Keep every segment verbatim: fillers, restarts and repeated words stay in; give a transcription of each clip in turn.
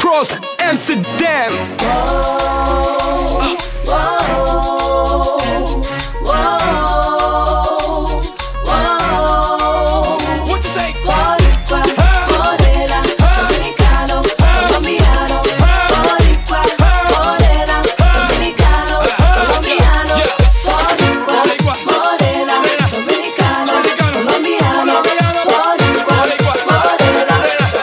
Cross Amsterdam. Whoa, whoa, whoa, whoa. What you say? Boricua, morena, dominicano, colombiano. Boricua, morena, dominicano, colombiano. Boricua, morena, dominicano, colombiano. Boricua, morena,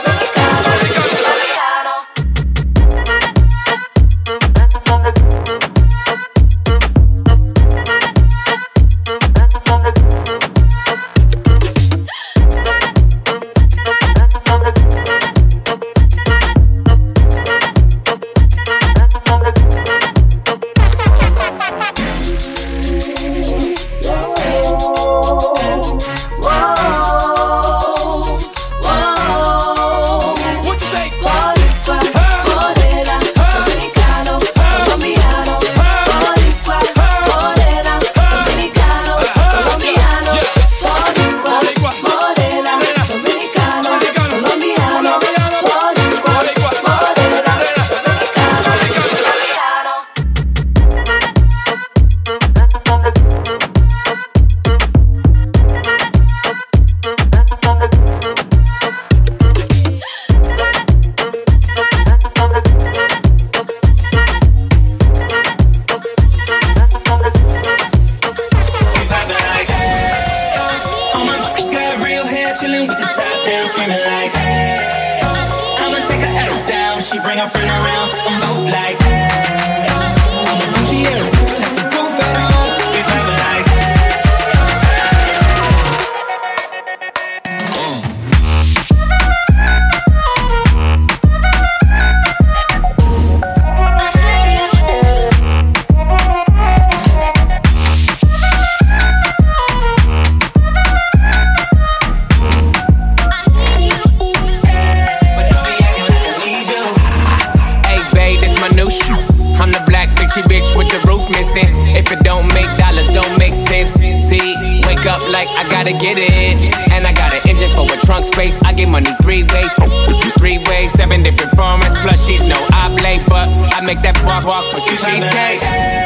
get it, and I got an engine for a trunk space. I get money three ways, three ways, seven different formats. Plus she's no oblate, but I make that walk walk with some cheesecake.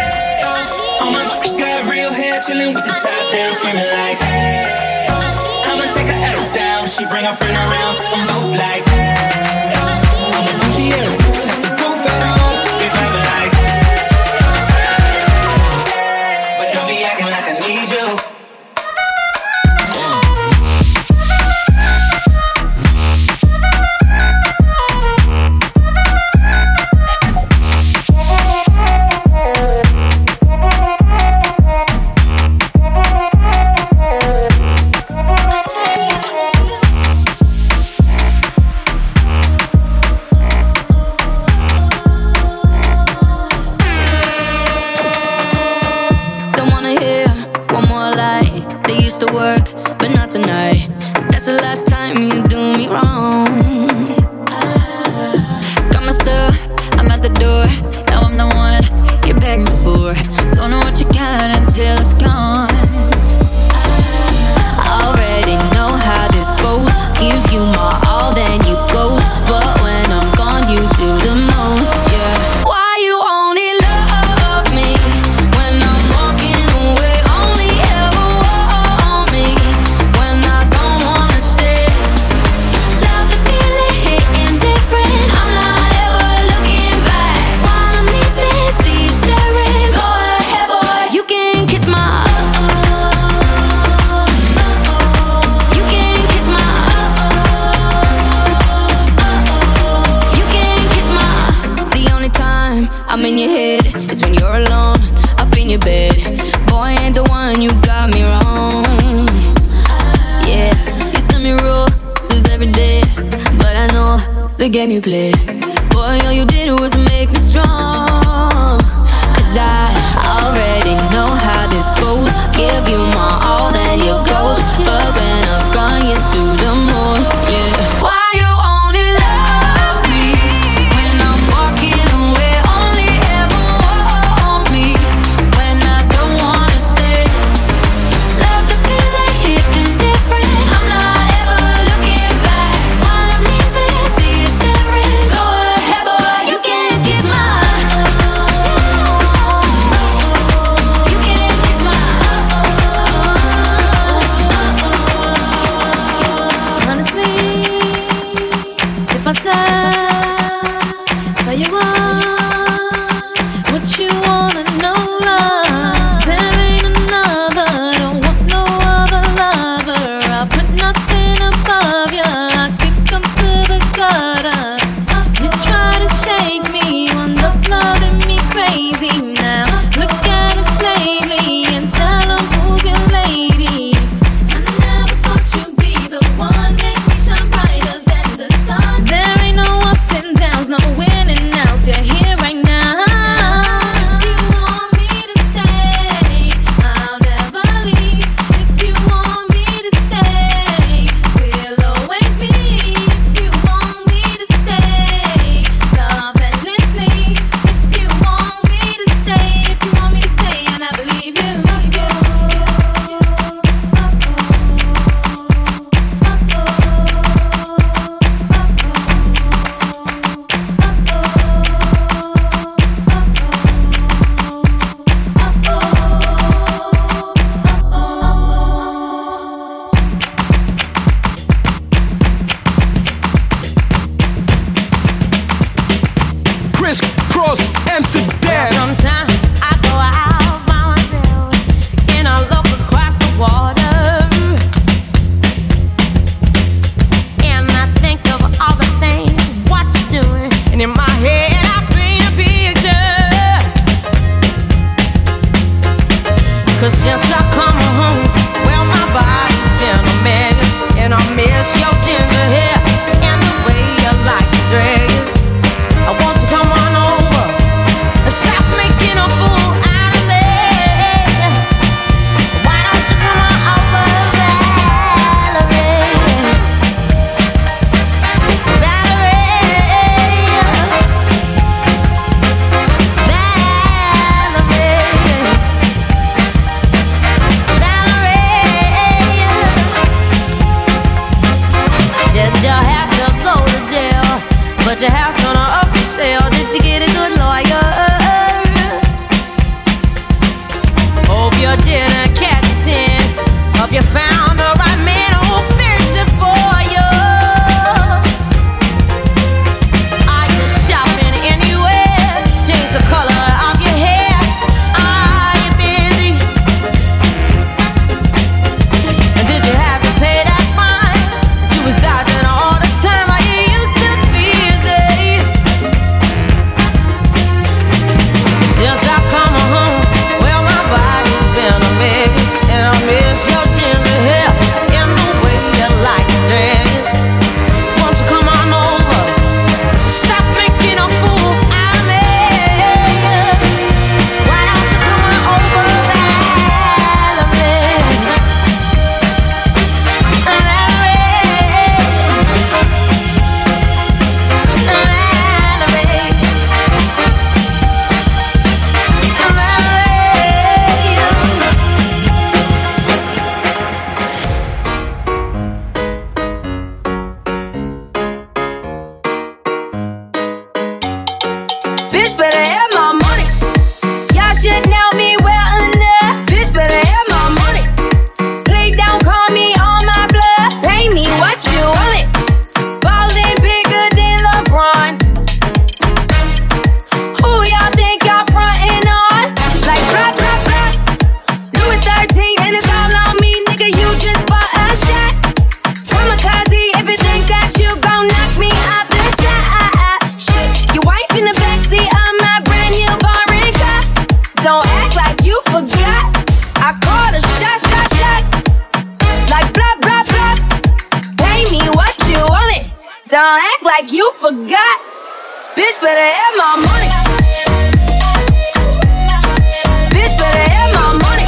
All my bitches got real hair, chillin' with the top down, screaming like, hey. I'ma take her L down, she bring her friend around, I'm both like, hey. I'm a bougie, yeah, let the roof at home, be driving like, hey. But don't be acting like I need you. Tonight, that's the last time you do me wrong. Got my stuff, I'm at the door. Now I'm the one you're begging for. Don't know what you got until it's gone. I already know how this goes. Give you my all, then you go. But when I'm gone, you do the most, yeah. Why you only love me when I'm walking away? Only ever want me when I don't wanna stay. Love the feeling hitting different. I'm not ever looking back. While I'm leaving, see you staring. Go ahead, boy, you can kiss my uh-oh. You can kiss my uh-oh. You can kiss my. The only time I'm in your head is when you're alone, up in your bed. Boy, ain't the one, you got me wrong. Yeah, you send me roses every day, but I know the game you play. Boy, all you did was make me strong. Cause I already know how this goes. Give you my all, then you ghost. But when I'm gone, you do the most, yeah. Why you only love me when I'm walking away? Only ever want me when I don't wanna stay. Love the feeling hitting different. I'm not ever looking back. While I'm leaving, see you staring. Go ahead, boy, Lagos, Amsterdam. Sometimes I go out by myself and I look across the water, and I think of all the things what you're doing, and in my head I paint a picture. 'Cause since I come home, well my body's been a mess, and I miss your ginger hair and the way you like to dress. I want to come on over and stop making a fool out of me. Why don't you come on over, Valerie? Valerie, Valerie, did you have to go to jail? But your house on a up for sale. Did you get a good lawyer? Hope you didn't catch a ten. Hope you found the right man who'll fix it for you. Are you shopping anywhere? Change the color of your hair. Are you busy? And did you have to pay that fine? You was dodging all the time. Are you used to busy? Since I come home, well my body's been a mess, and I miss your ginger hair and the way you like to dress. Won't you come on over? Stop making a fool out of me. Why don't you come on over, Valerie? Bitch better have my money. Y'all should know me well enough. Bitch better have my money. Play down, call me on my blood. Pay me what you want it. Ballin' bigger than LeBron. Who y'all think y'all frontin' on? Like blah blah blah. Louis thirteen and it's all on me, nigga. You just bought a shot. Kamikaze if you think that you gon' knock me off the top. Shit, your wife in the backseat of my brand new foreign car. Don't act like you forgot. I called a shot, shot, shots. Like blah blah blah. Pay me what you want it. Don't act like you forgot. Bitch better have my money. Bitch better have my money.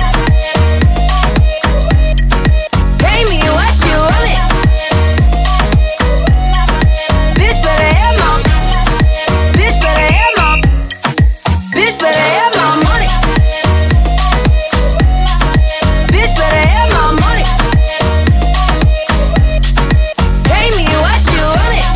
Pay me what you want it. Bitch better have my. Bitch better have my. Bitch better have my money. Bitch better have my money. Pay me what you want it.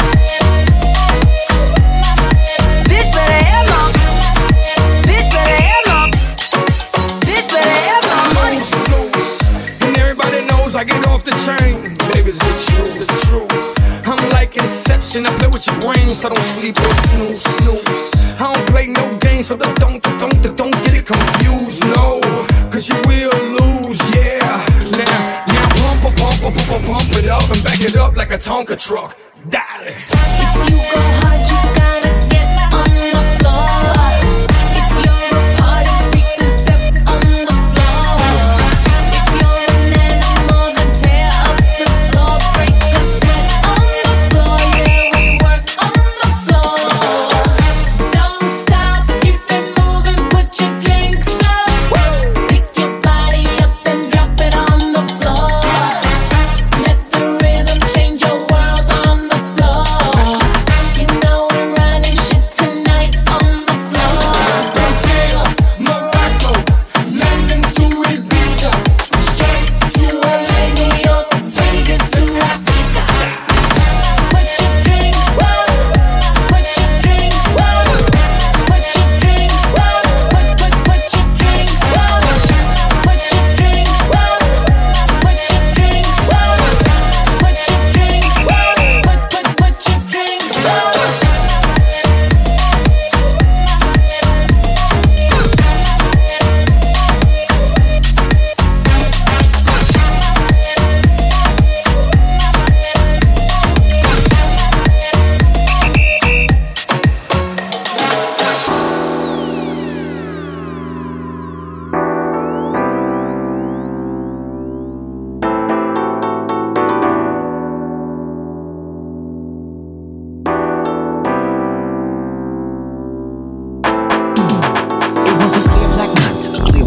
Bitch better have my. Bitch better have my. Bitch better have my money. Snooze, and everybody knows I get off the train. Baby, it's the truth, the truth. I'm like Inception, I play with your brain, so don't sleep or snooze, snooze. I don't play no games, so don't, don't, don't, don't get it confused, no. 'Cause you will lose, yeah. Now, now pump, pump, pump, pump, pump, pump it up and back it up like a Tonka truck. Daddy. If you go hard, you gotta get on the floor. If you're a party freak, then step on the floor. If you're an animal, then tear up the floor. Break the sweat on the floor. Yeah, we work on the floor. Don't stop, keep it moving, put your drinks up. Pick your body up and drop it on the floor. Let the rhythm change your world on the floor.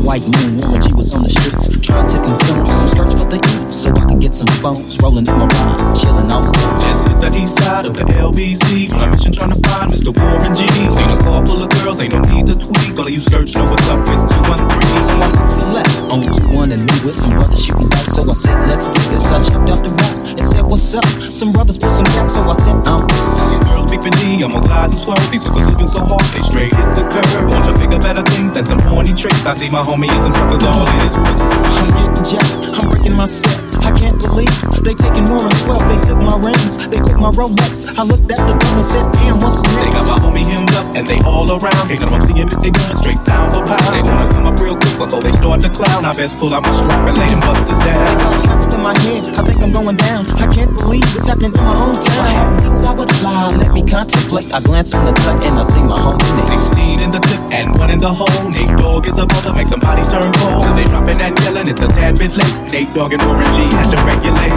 white moon when she was on the streets, trying to consume some skirts for the E, so I can get some phones, rolling in my ride, chilling all alone. Just hit the east side of the L B C on a mission trying to find Mister Warren G. Seen a car full of girls, ain't no need to tweak. All of you skirts know what's up with two one three. So I select only two one and me with some brothers shooting dice. So I said, let's do this. I checked out the room and said, what's up? Some brothers put some gas, so I said, I'm These girls beeping D, I'm a glide and swerve. These hookers living so hard, they straight hit the curve. Want to bigger, better things than some horny tricks. I see my homie and some fuckers all in his books. I'm getting jacked, I'm breaking my set. I can't believe they taking more than twelve. They took my rings, they took my Rolex. I looked at the bill and said, damn, what's next? They got my homie hemmed up and they all around. Can't none of them see him if they going straight down for pound. They wanna come up real quick before they start to clown. I best pull out my strap and lay them busters down. Guns to my head, I think I'm going down. I can't believe it's happening in my own town. I had things I would fly, let me contemplate. I glance in the cut and I see my homie Nate. Sixteen in the clip and one in the hole. Nate Dogg is about to make some bodies turn cold. They dropping and yelling, it's a tad bit late. Nate Dogg and Warren G had to regulate.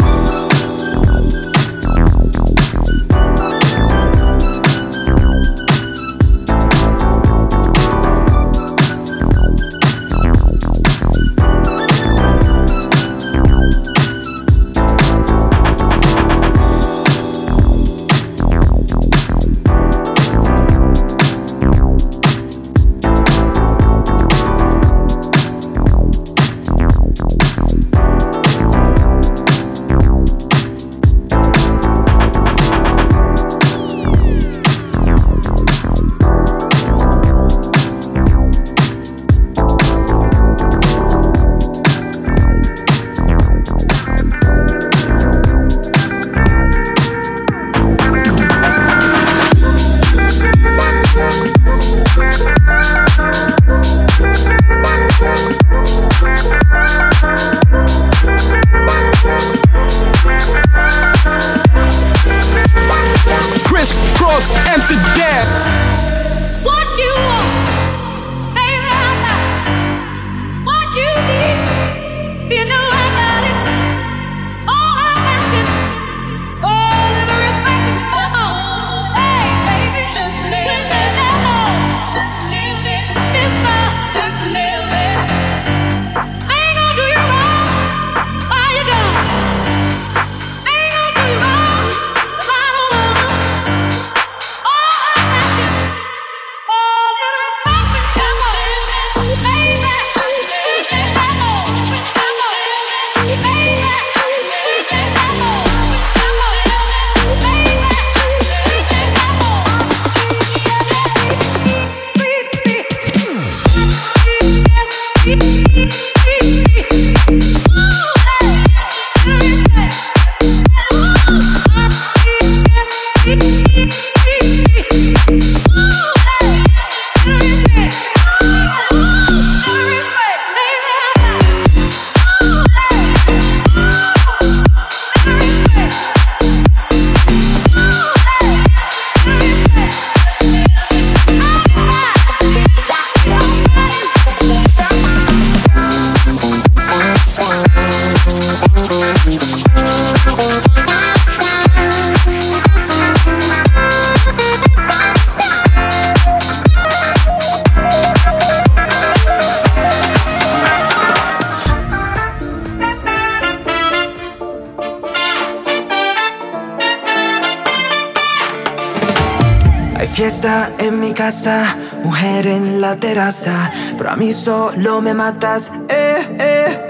Fiesta en mi casa, mujer en la terraza, pero a mí solo me matas, eh, eh,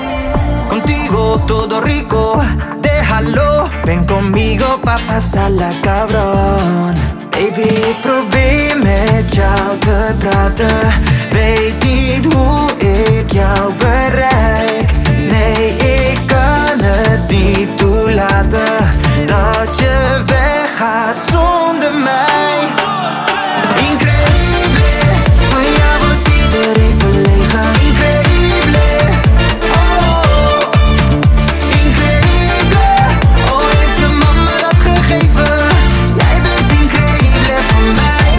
eh. Contigo todo rico, déjalo. Ven conmigo pa' pasarla cabrón. Baby, probeer met jou te praten. Weet niet hoe ik jou bereik. Nee, ik kan het niet toelaten dat je weggaat zonder mij. Increíble, van jou wordt iedereen verlegen. Increíble, oh, oh. Increíble, oh, heeft je mama dat gegeven? Jij bent increíble voor mij.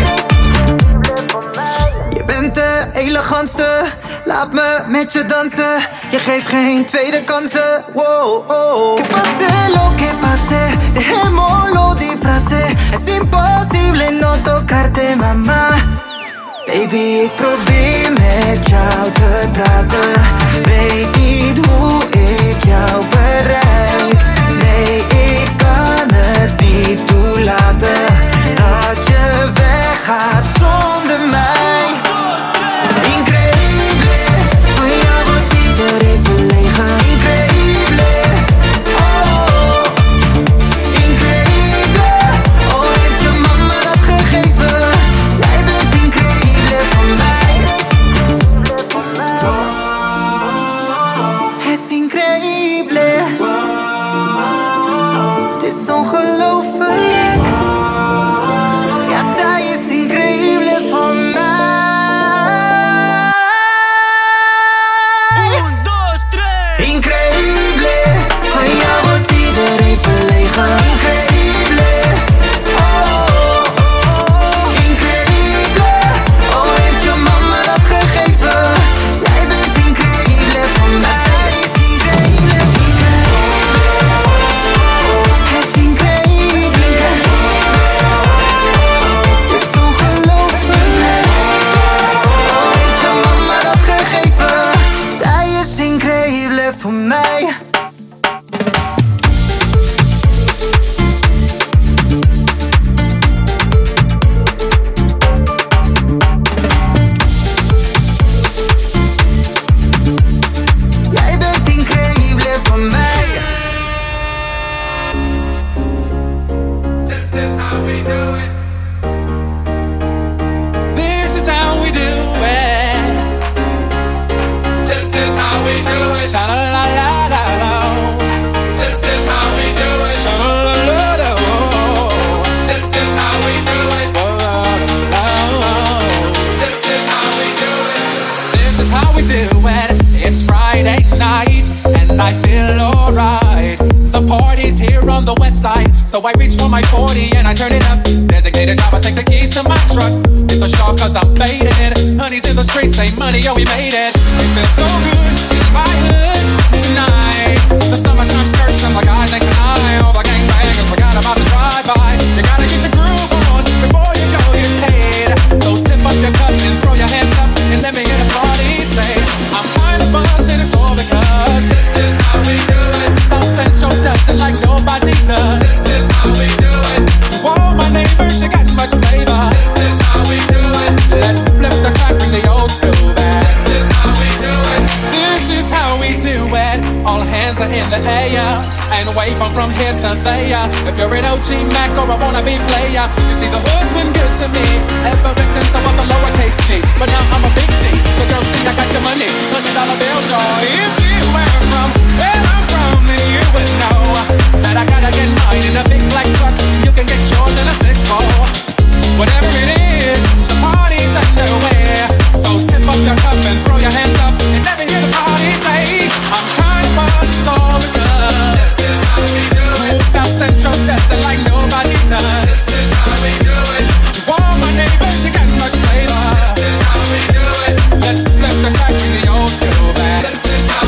Je bent de elegantste, laat me met je dansen. Je geeft geen tweede kansen, wow, oh. Que pase lo que pase, dejémoslo disfrace. Es imposible no tocarte, mamá. Baby, ik probeer met jou te praten. Weet niet hoe ik jou bereik. Nee, ik kan het niet toelaten dat je weggaat zonder mij. Increíble, van jou wordt iedereen verlegen. Increíble, oh, increíble. Oh, heeft je mama dat gegeven? Jij bent increíble voor mij. Het is increíble. Het is ongelooflijk. Ja, zij is increíble voor mij. Un, dos, tres. Increíble, van jou wordt iedereen verlegen. Increíble, oh, increíble. Oh, heeft je mama dat gegeven? Jij bent increíble voor mij. Zij is increíble voor mij. Het is increíble. Het is ongelooflijk. Oh, heeft je mama dat gegeven? Zij is increíble voor mij. Jij bent increíble voor mij. This is how we do it. This is how we do it. This is how we do it. Sha la la la la la. This is how we do it. Sha la la la la. This is how we do it. This is how we do it. This is how we do it. It's Friday night and I feel alright. The party's here on the west side, so I reach for my forty and I turn it up. Designated driver, take the keys to my truck. Hit the shop cause I'm faded. Honey's in the streets, say money, oh we made it. It feels so good in my hood tonight. The summertime skirts and the guys ain't canine. All the gangbangers forgot about the drive-by. You gotta get your groove on before you go get paid. So tip up your cup and throw your hands up and let me hear the party say, I'm kinda buzzed and it's all because This is how we do it. South Central does it like nobody does. This is how we do it. To all my neighbors, you got much flavor. This is how we do it. Let's flip the track, bring the old school back. This is how we do it. This is how we do it. All hands are in the air and wave on from here to there. If you're an O G Mac or a wannabe player, you see the hood's been good to me ever since I was a lowercase G. But now I'm a big G. The girls see I got the money, hundred dollar bills, y'all. If you were from where I'm from, then you would know that I gotta get mine in a big black truck. You can get yours in a six four. Whatever it is, the party's underway. So tip up your cup and throw your hands up and let me hear the party say, I'm kind of buzzed all because This is how we do it. South Central does it like nobody does. This is how we do it. To all my neighbors, you got much flavor. This is how we do it. Let's flip the track in the old school back. This is how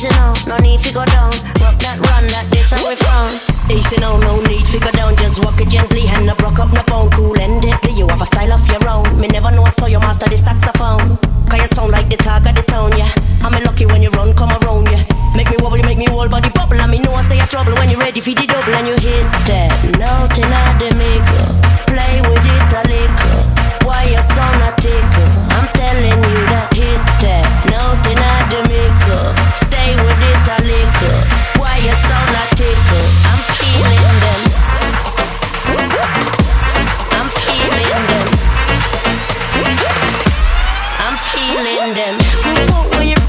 Easy now, no need to go down. Rock that run, that this how we frown. Easy now, no need to go down. Just walk it gently and no broke up no bone. Cool and deadly, you have a style of your own. Me never know I saw you master the saxophone. Cause you sound like the talk of the town, yeah. I'm lucky when you run, come around, yeah. Make me wobble, make me whole body bubble. And me know I say a trouble when you ready for the double. And you hit that note in the maker. Play with it a little. Why you sound a tickle? I'm telling you that hit that note in the maker. Stay with it a little. Why you sound a tickle? I'm feeling them. I'm feeling them. I'm feeling them. When you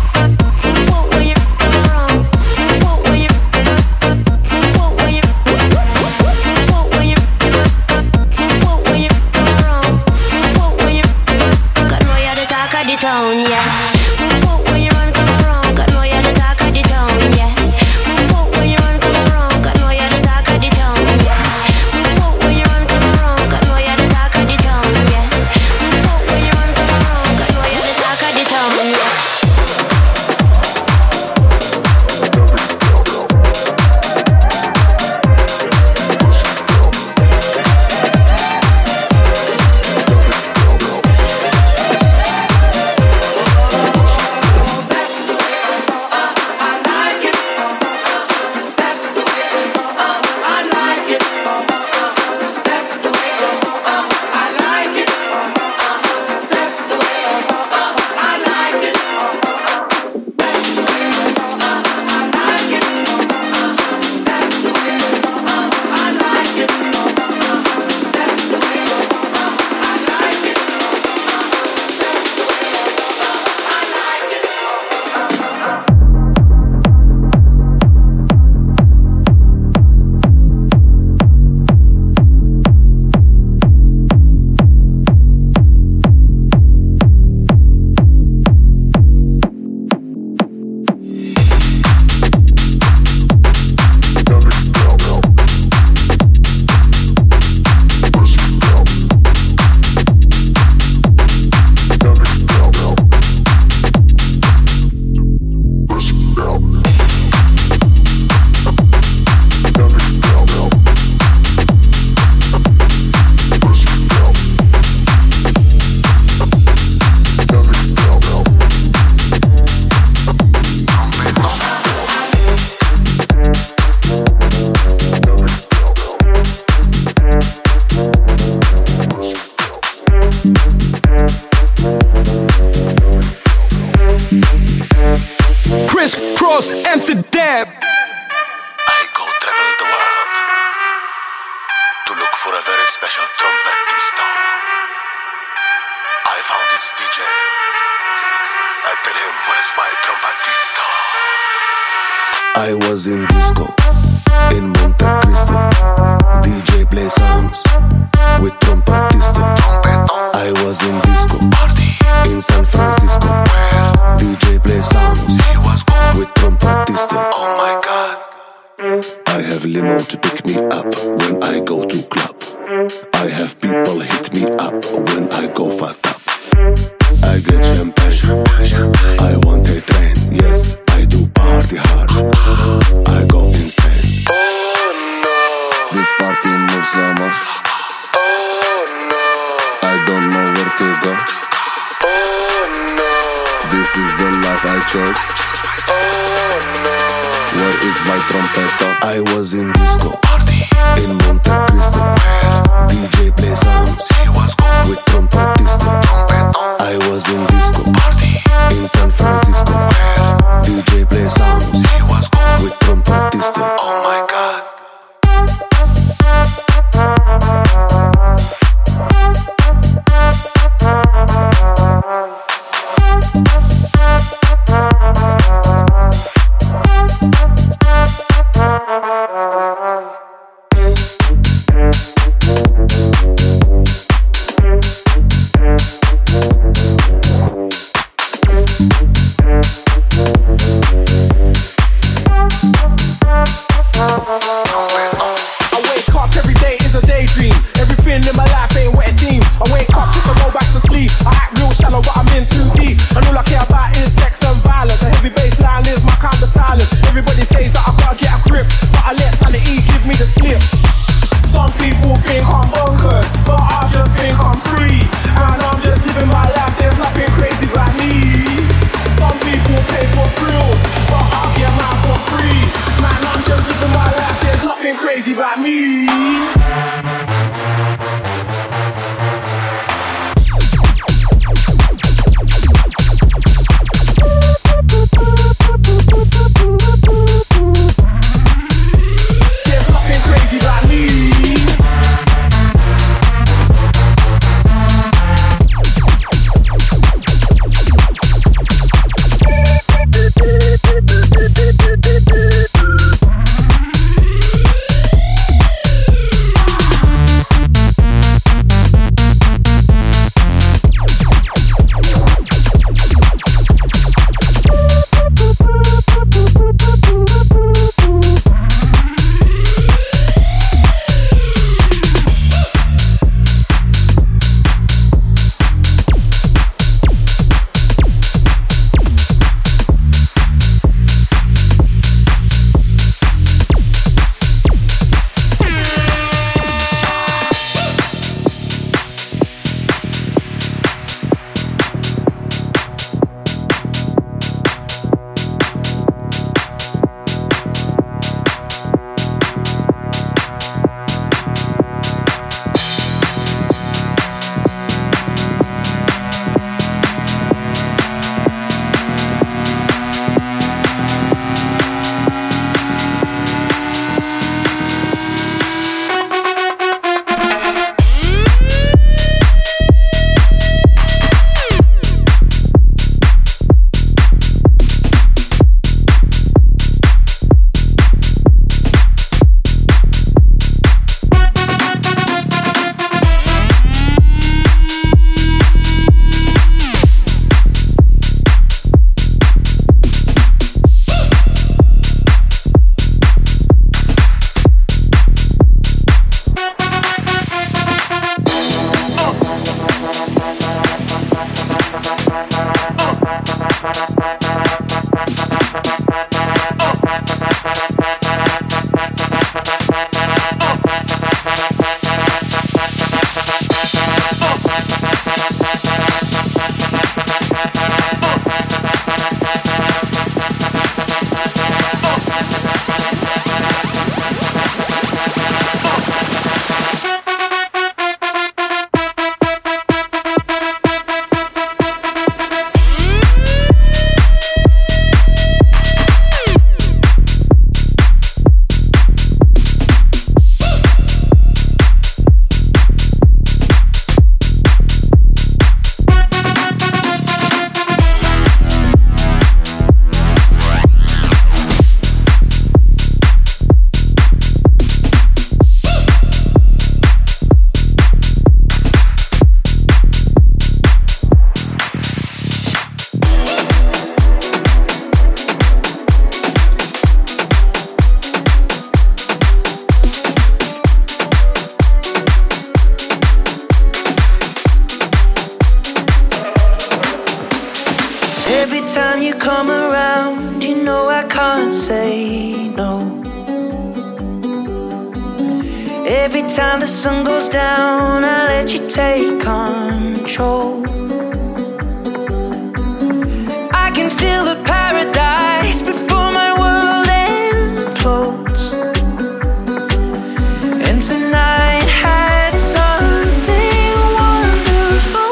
town, yeah. When you run, come around, got know you're the talk of the town, yeah. When you run, come around, got know you're the talk of the town, yeah. When you run, come around, got know you're the talk of the town, yeah. When you run, come around, got know you're the talk of the town, yeah. Amsterdam. I go travel the world to look for a very special trumpetista. I found its D J. I tell him, where is my trumpetista? I was in disco in Monte Cristo. D J play songs with trumpetista. I was in disco in San Francisco. D J play songs with trumpetista. Oh my God. I have limo to pick me up when I go to club. I have people hit me up when I go fast up. I get champagne, I want a train. Yes, I do party hard, I go insane. Oh no, this party moves so much. Oh no, I don't know where to go. Oh no, this is the life I chose. Oh no, where is my trompeta? I was in disco in Monte Cristo. D J play songs with trumpetista. I was in disco in San Francisco. D J play songs with trumpetista. Oh my God. time you come around, you know I can't say no. Every time the sun goes down, I let you take control. I can feel the paradise before my world implodes. And tonight had something wonderful.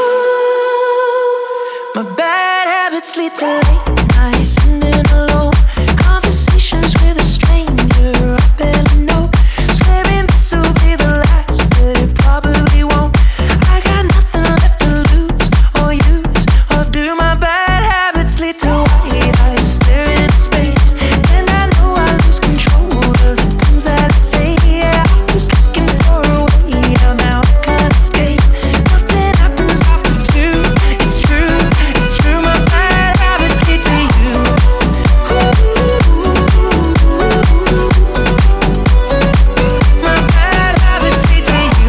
My bad habits lead to late nights sitting alone, conversations with a stranger I barely know, swearing this will be the last, but it probably won't. I got nothing left to lose or use or do. My bad habits lead to white eyes staring into space, and I know I lose control of the things that I say. Yeah, I was looking for a way out, now I can't escape. Nothing happens after two. It's true, it's true. My bad habits lead to you. My bad habits lead to you.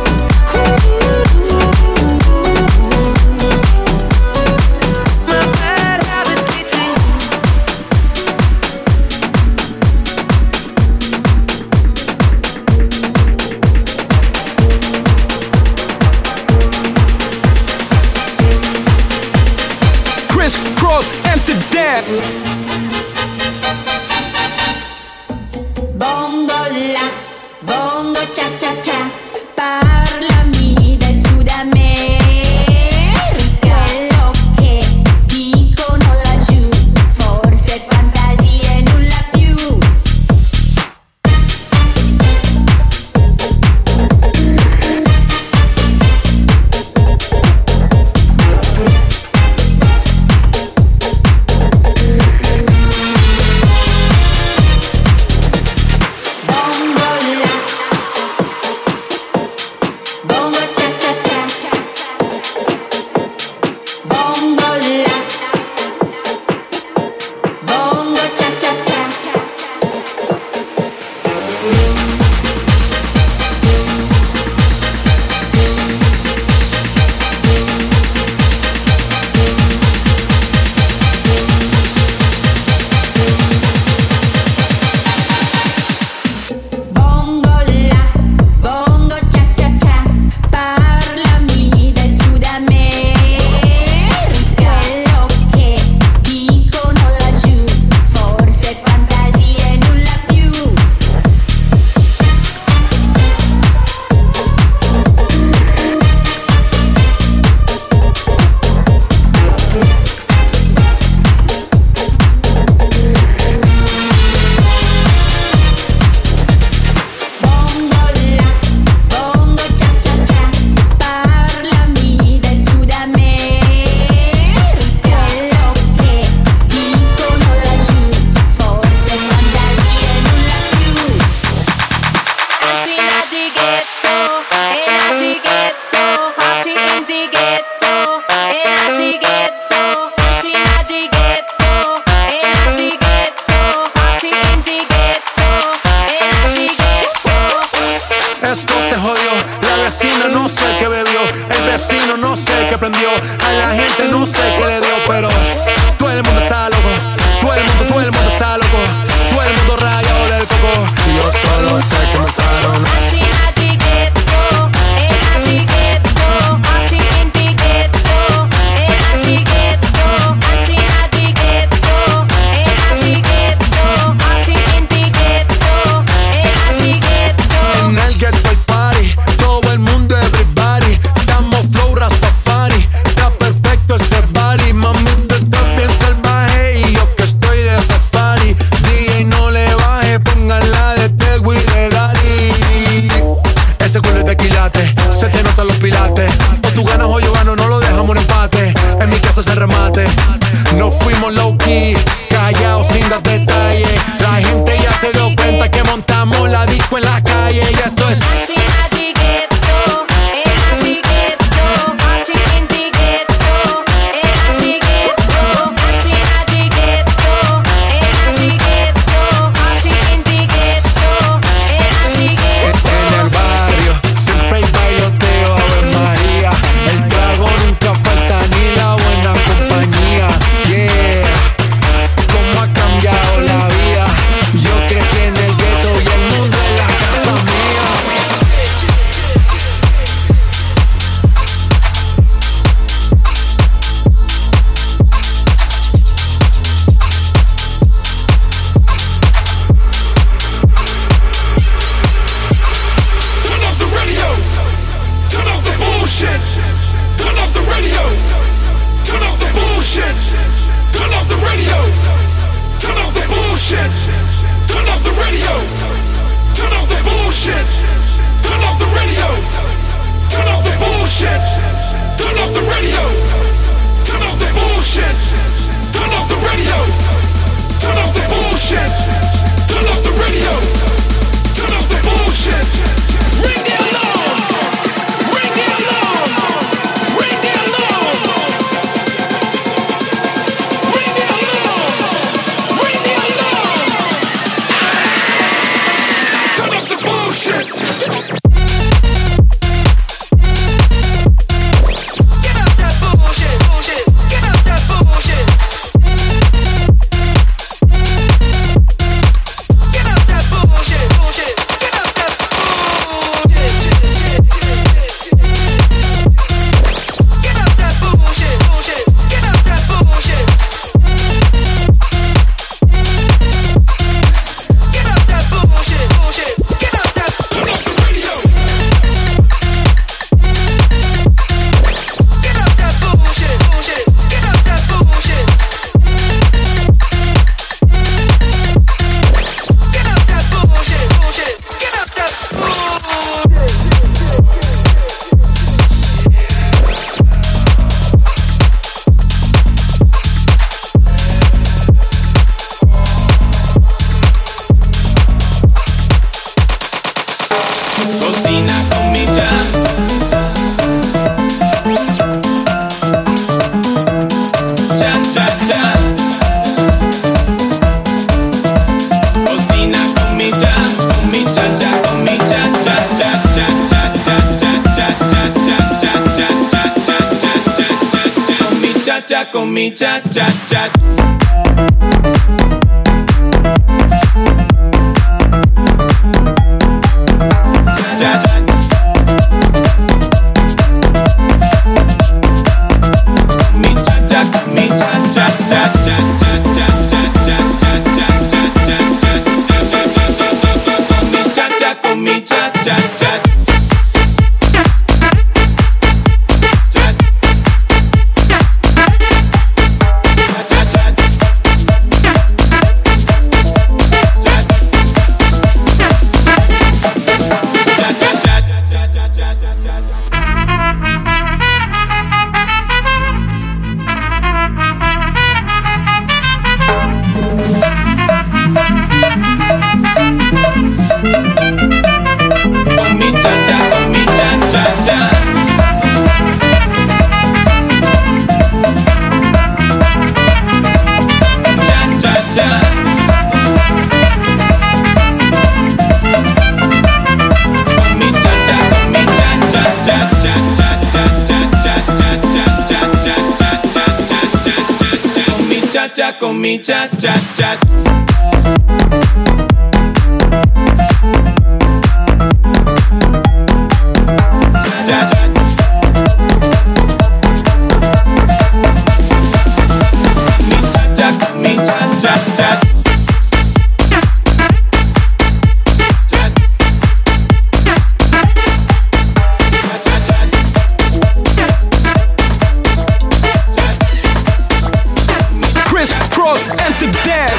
My bad habits lead to you. Chris Cross Amsterdam. Bongo la, bongo cha cha cha, parlami del Sud America. Quello che dicono laggiù, forse fantasia e nulla più. Bongo la, bongo cha cha cha, bongo la, bongo cha cha cha. Bongo la, bongo cha cha cha, parlami del Sud America. Quello che dicono laggiù, forse fantasia e nulla più. Bongo la, bongo cha cha cha, parlami del Sud America. Quello che dicono laggiù, forse fantasia e nulla più. Party at the ghetto, in at the ghetto, party in the ghetto, in at the ghetto, party at the ghetto, in at the ghetto, party in the ghetto, in at the ghetto. Esto se jodió, la vecina no sé qué bebió, el vecino no sé qué prendió, a la gente no sé qué le dio, pero low key, callado sin dar detalles. La gente ya se dio cuenta que montamos la disco en la calle y esto es. Con mi cha cha cha. Cha cha. Mi cha cha, mi cha cha cha cha cha cha cha cha cha cha cha cha. Con mi cha cha cha. Con mi cha cha cha. Cha cha. Mi cha cha, mi cha cha cha. Crisscross Amsterdam.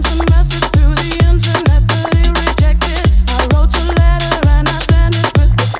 Through the internet, but it rejected. I wrote a letter and I sent it with the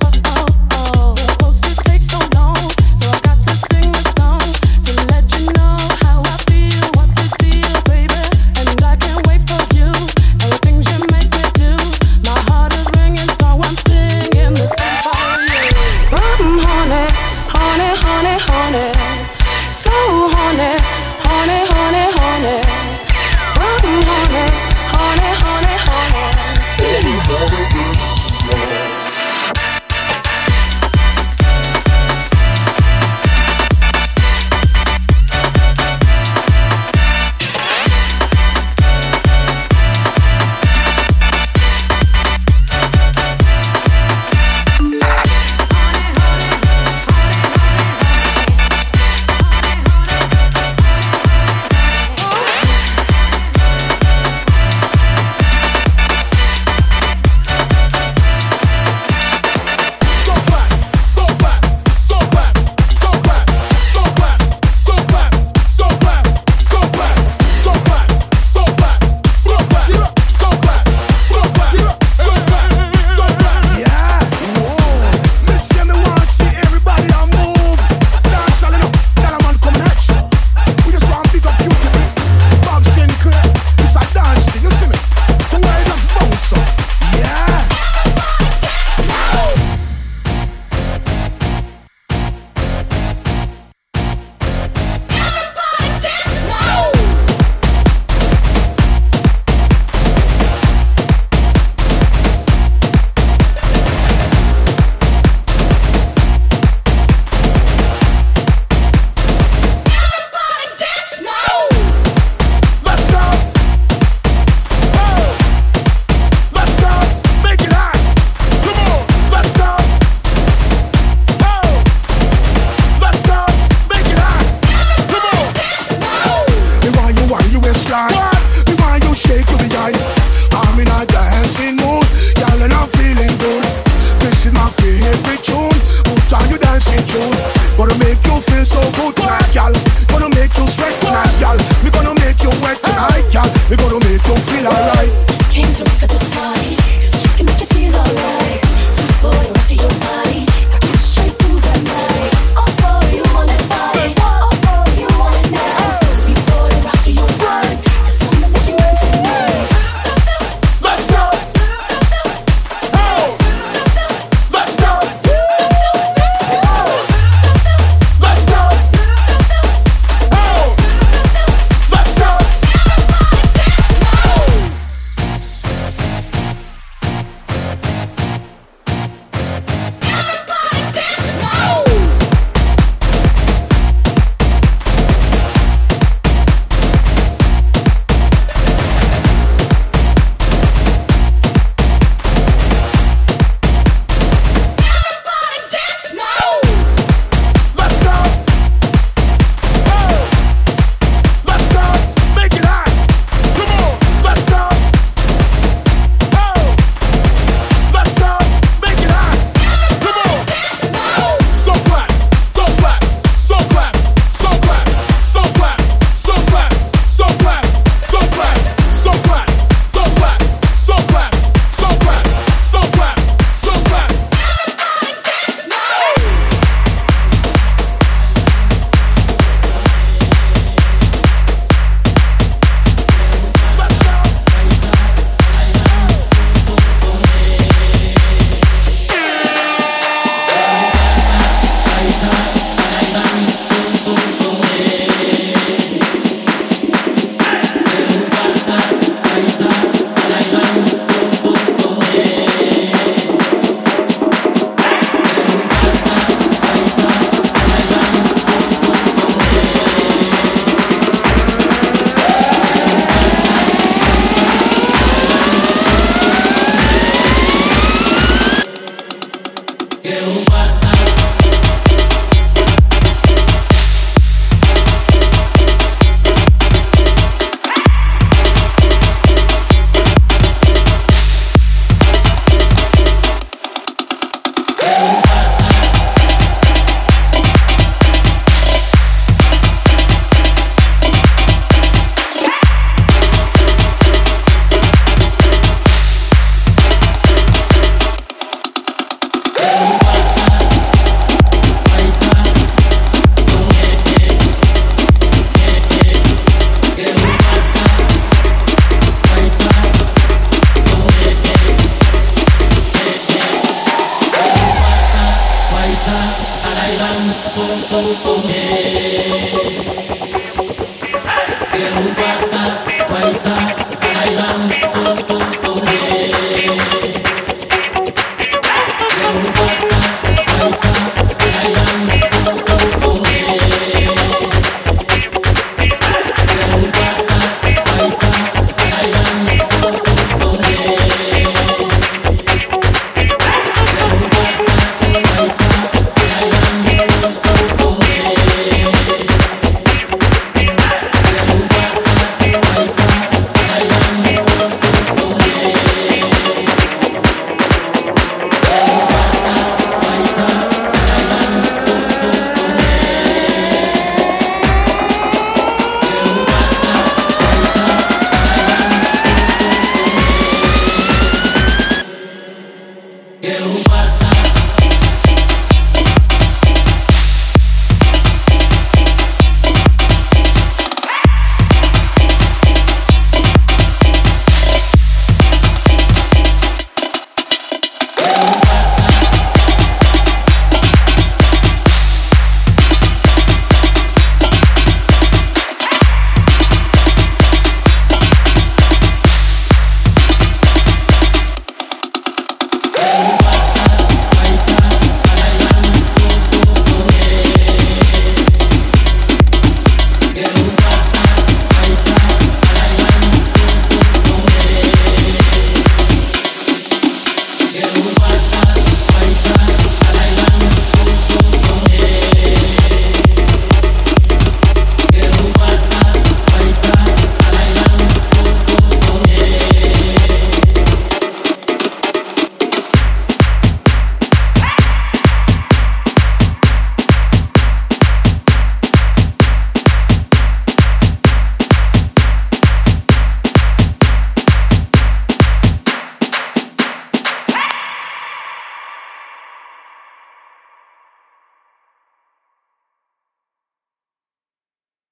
Get